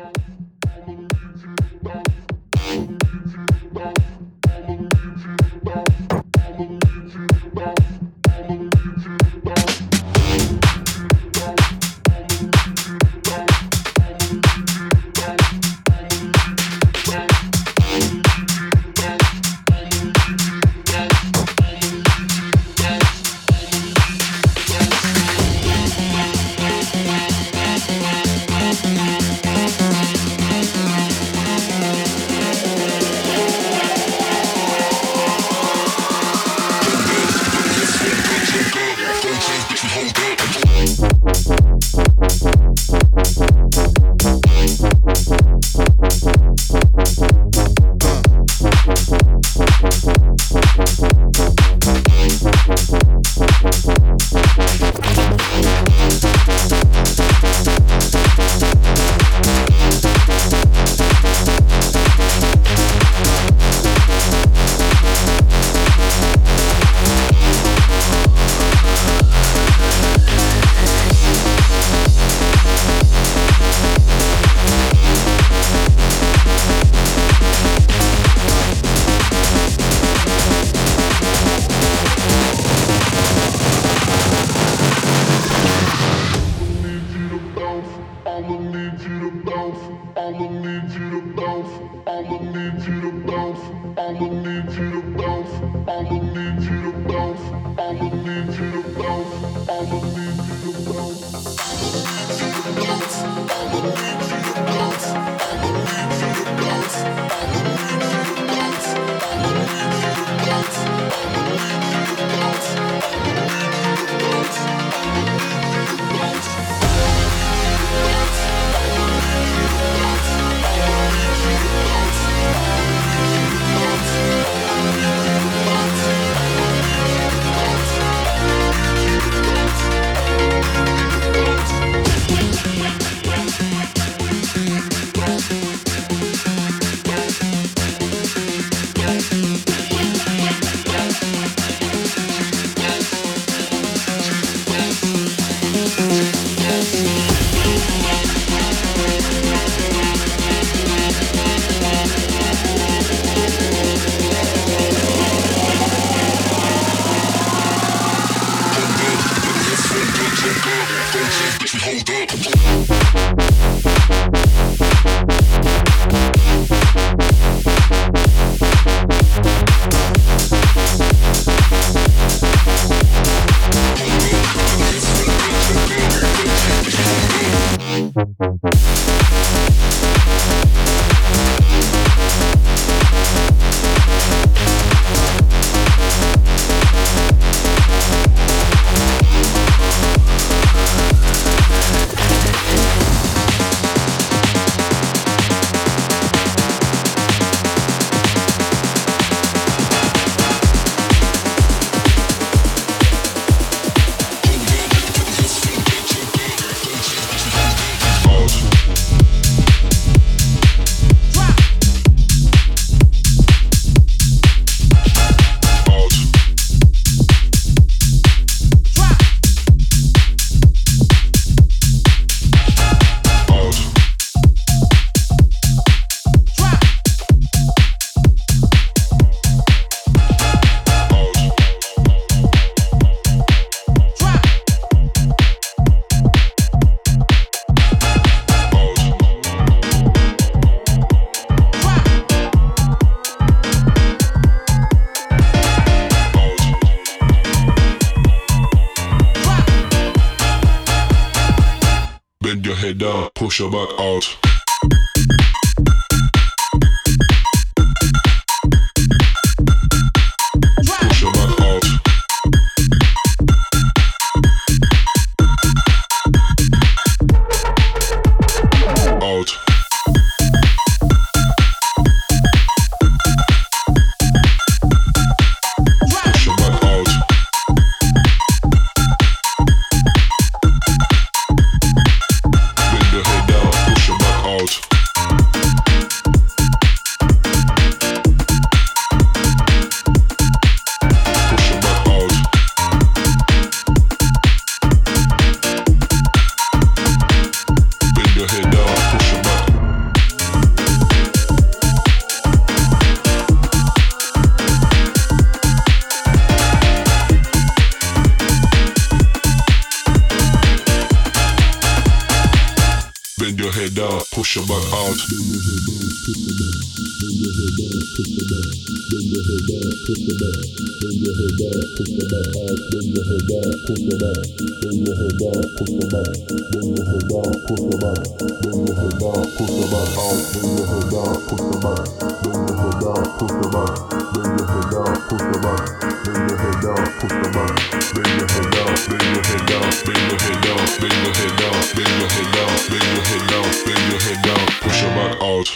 head down, push your back out. Push your back out. Out. Push your back out. Bend your head down, push your back out. push your back out. Push your back out.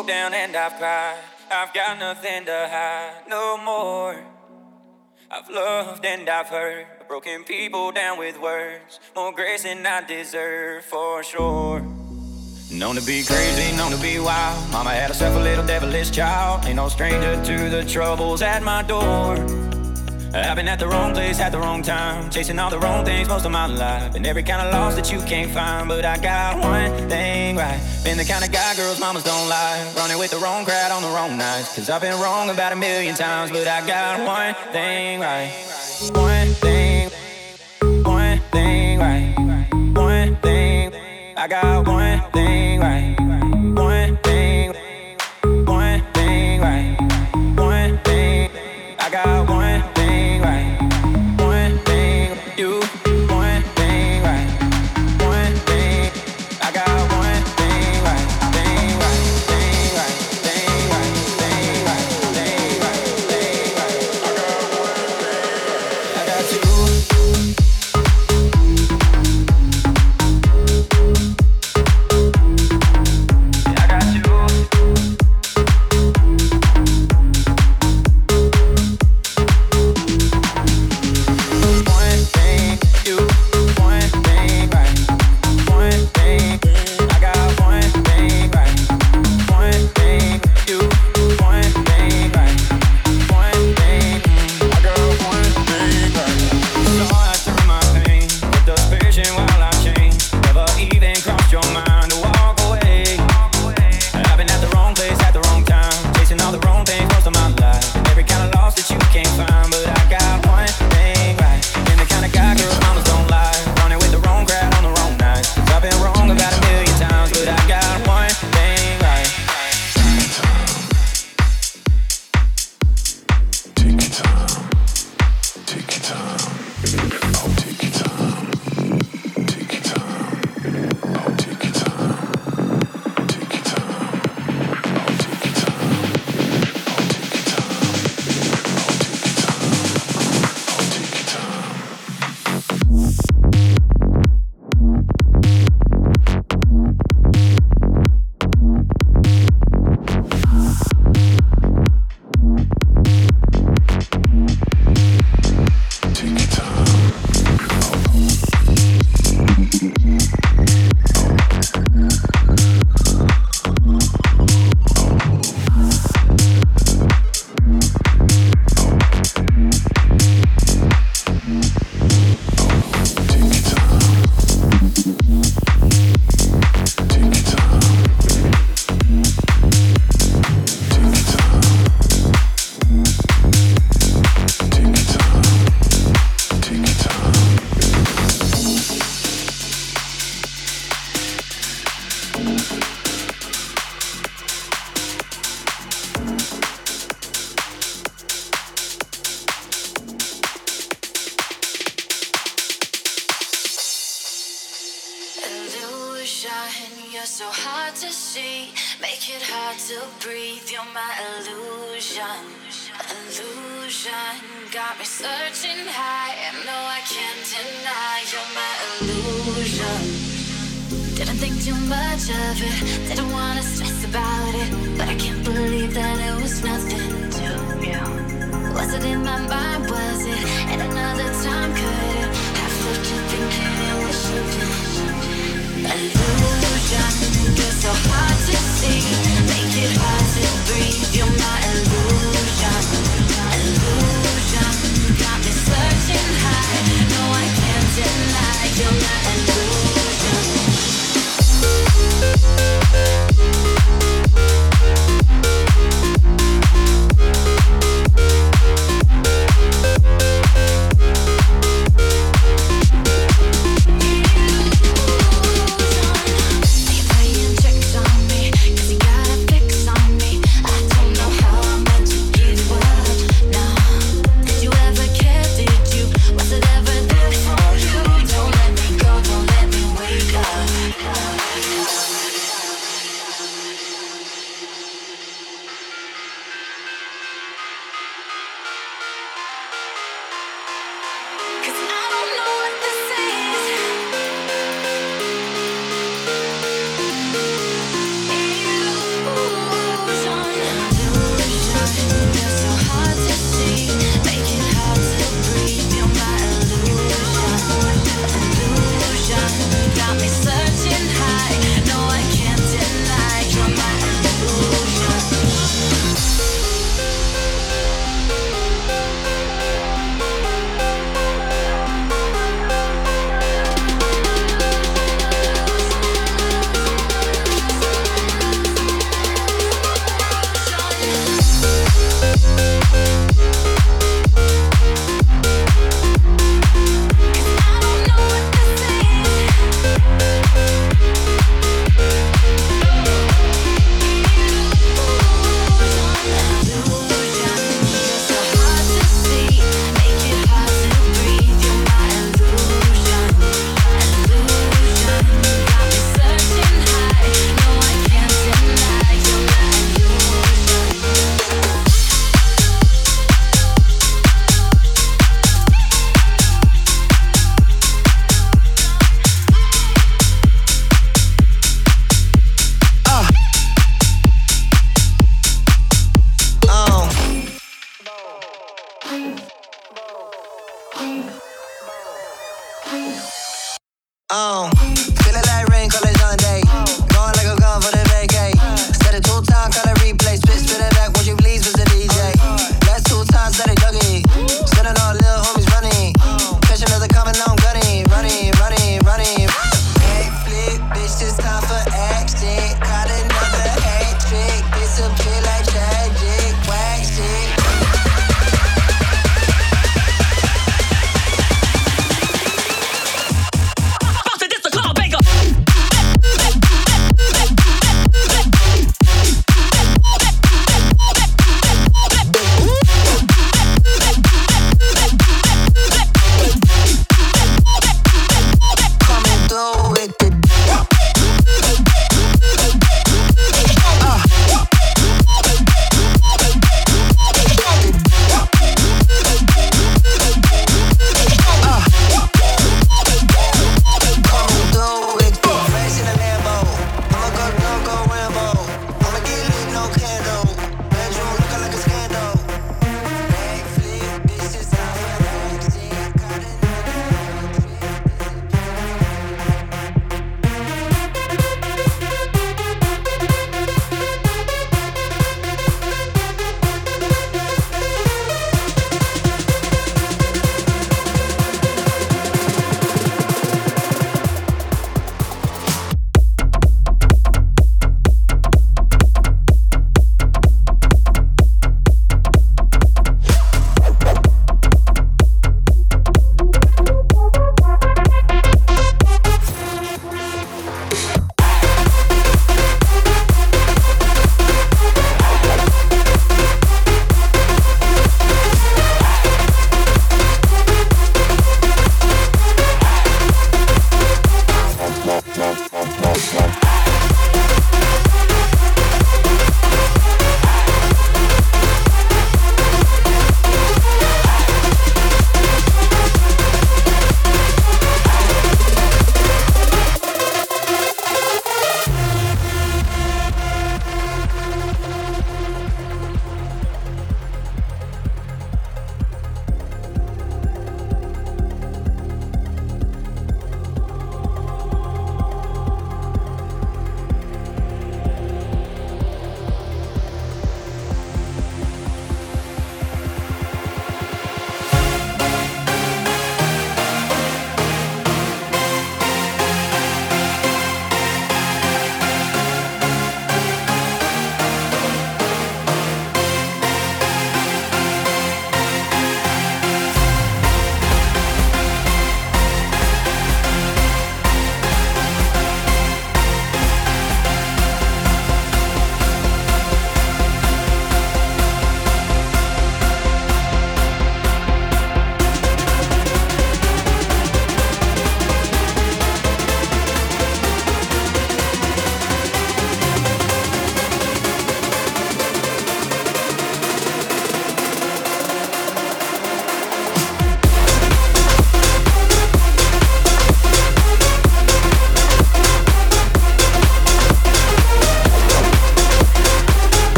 broke down and I've cried. I've got nothing to hide no more. I've loved and I've hurt, broken people down with words. More grace than I deserve, for sure. Known to be crazy, known to be wild. Mama had herself a little devilish child. Ain't no stranger to the troubles at my door. I've been at the wrong place at the wrong time, chasing all the wrong things most of my life. And every kind of loss that you can't find, but I got one thing right. Been the kind of guy girls mamas don't like, running with the wrong crowd on the wrong nights. Cause I've been wrong about 1,000,000 times, but I got one thing right. One thing right. One thing, I got one thing right. One thing right. One thing, I got one thing right. One thing, you, one thing right. One thing, I got one thing right. Thing right, thing right, thing right, thing right, thing right, thing right. I got you.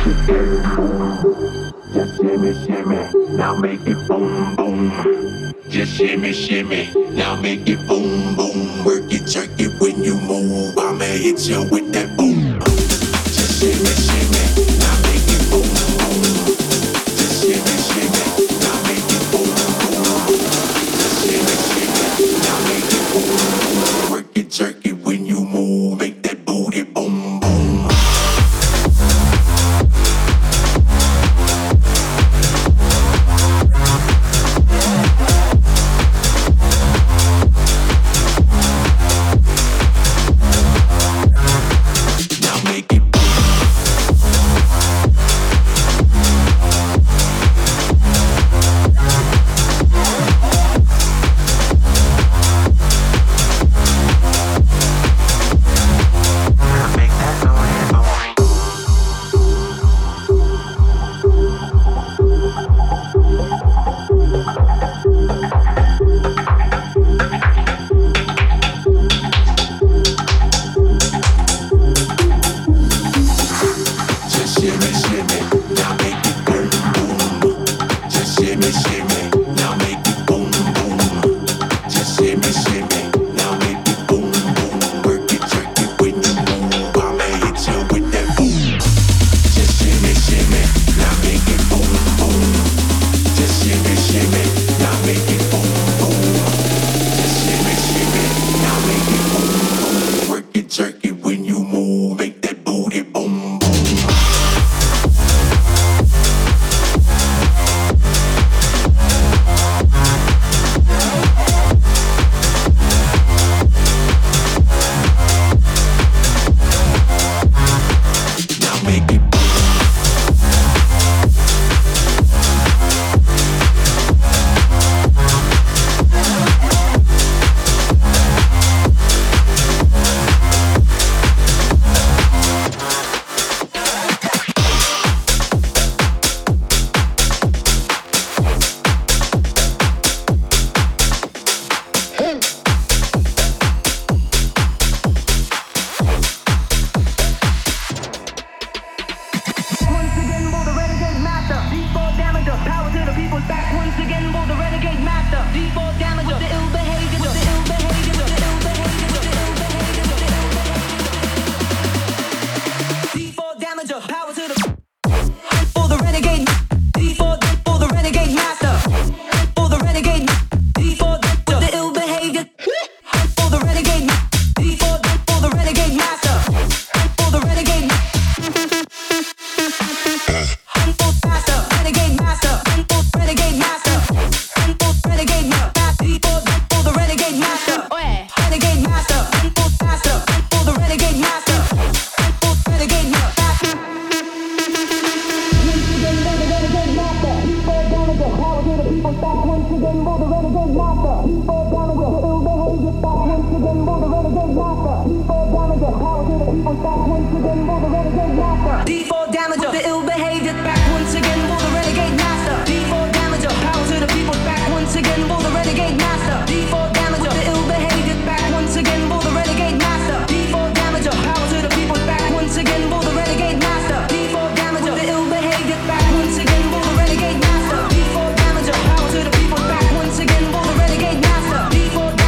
Just shimmy, shimmy, now make it boom, boom. Just shimmy, shimmy, now make it boom, boom. Work it, jerk it when you move. I'ma hit you with that boom. Just shimmy, shimmy, now make it boom, boom. Just shimmy, shimmy, now make it boom, boom. Just shimmy, shimmy, now make it boom, boom. Work it, jerk it when you move. Make that booty boom, boom.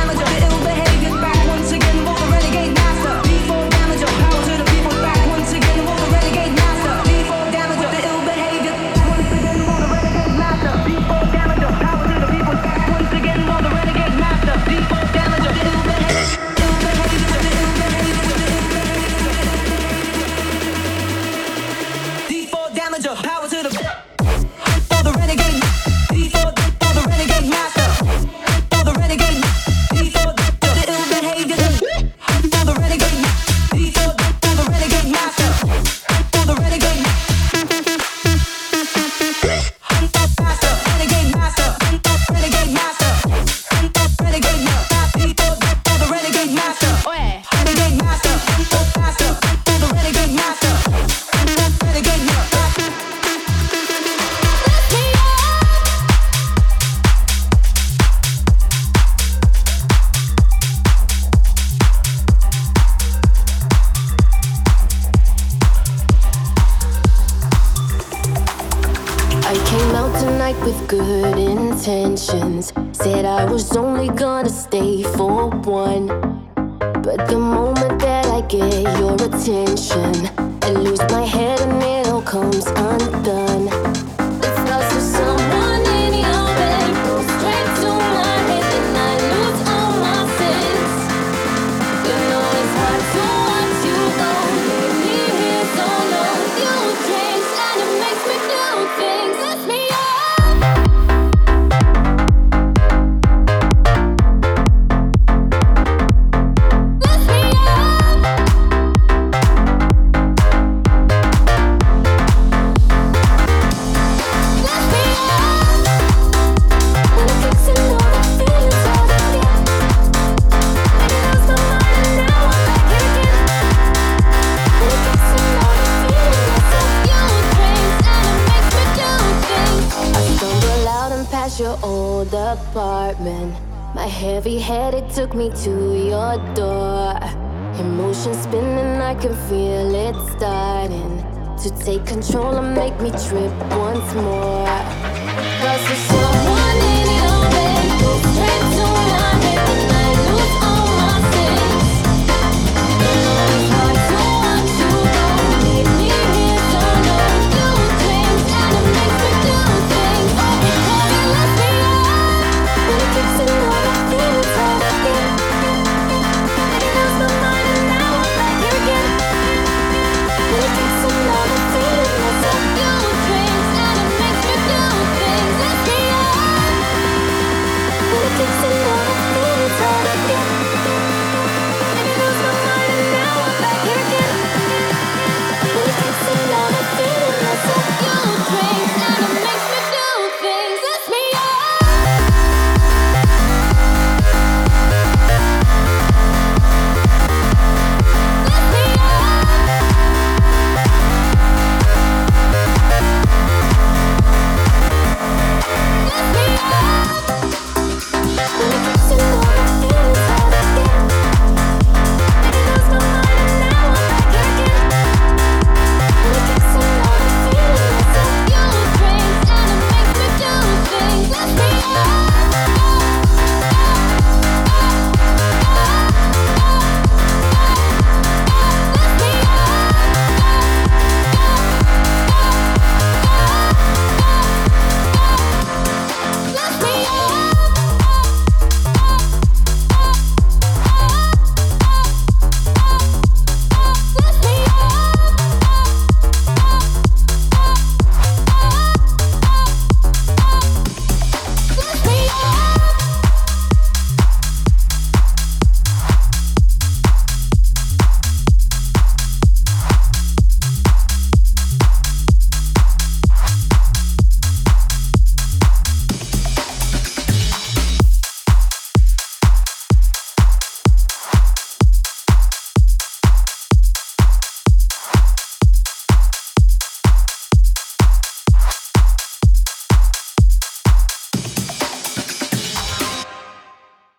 Once again intentions. Said I was only gonna stay for one. But the moment that I get your attention, I lose my head and it all comes undone. It's lost for someone in your bed, go straight to my head, and I lose all my sense. You know it's hard to watch you go, leave me here so long. You change and it makes me do things. Lift me up. Your old apartment, my heavy head, it took me to your door. Emotions spinning, I can feel it starting to take control and make me trip once more. 'Cause it's so